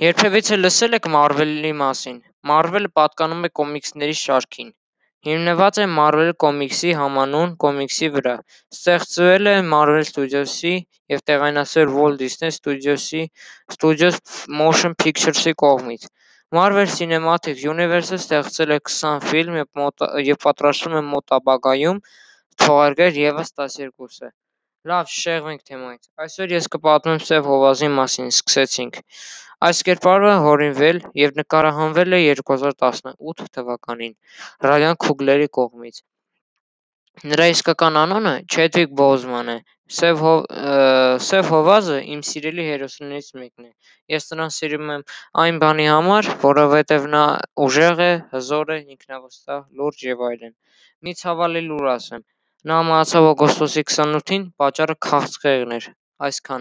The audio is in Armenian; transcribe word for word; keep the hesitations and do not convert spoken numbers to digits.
Երբևիցե լսել եք Մարվելի մասին։ Մարվելը պատկանում է կոմիքսների շարքին։ Հիմնված է Marvel Comics-ի համանուն կոմիքսի վրա։ Ստեղծվել է Marvel Studios-ի և տեղայնացվել Walt Disney Studios-ի Studios Motion Pictures-ի կողմից։ Marvel Cinematic Universe-ը ստեղծել է քսան ֆիլմ և, մոտ, և պատրաստվում է մոտ ապագայում թողարկել ևս տասներկուսը։ Լավ, շեղվենք թեմայից։ Այսօր ես կպատմեմ Սև Հովազի մասին, սկսեցինք։ Այս կերպարը հորինվել և նկարահանվել է երկու հազար տասնութ թվականին Ռայան Քուգլերի կողմից։ Նրա իսկական անունը Չեդվիկ Բոզման է։ Սև, հով, Սև Հովազը իմ սիրելի հերոսներից մեկն է։ Ես նրան սիրում եմ այն բանի համար, որովհետև նա ուժեղ է, հզոր է, ինքնավստահ, լուրջ և այլն։ Մի ցավալի լուր ասեմ. նա մահացավ օգոստոսի քսանութին, պատճառը քաղցկեղն էր։ Այսքանը։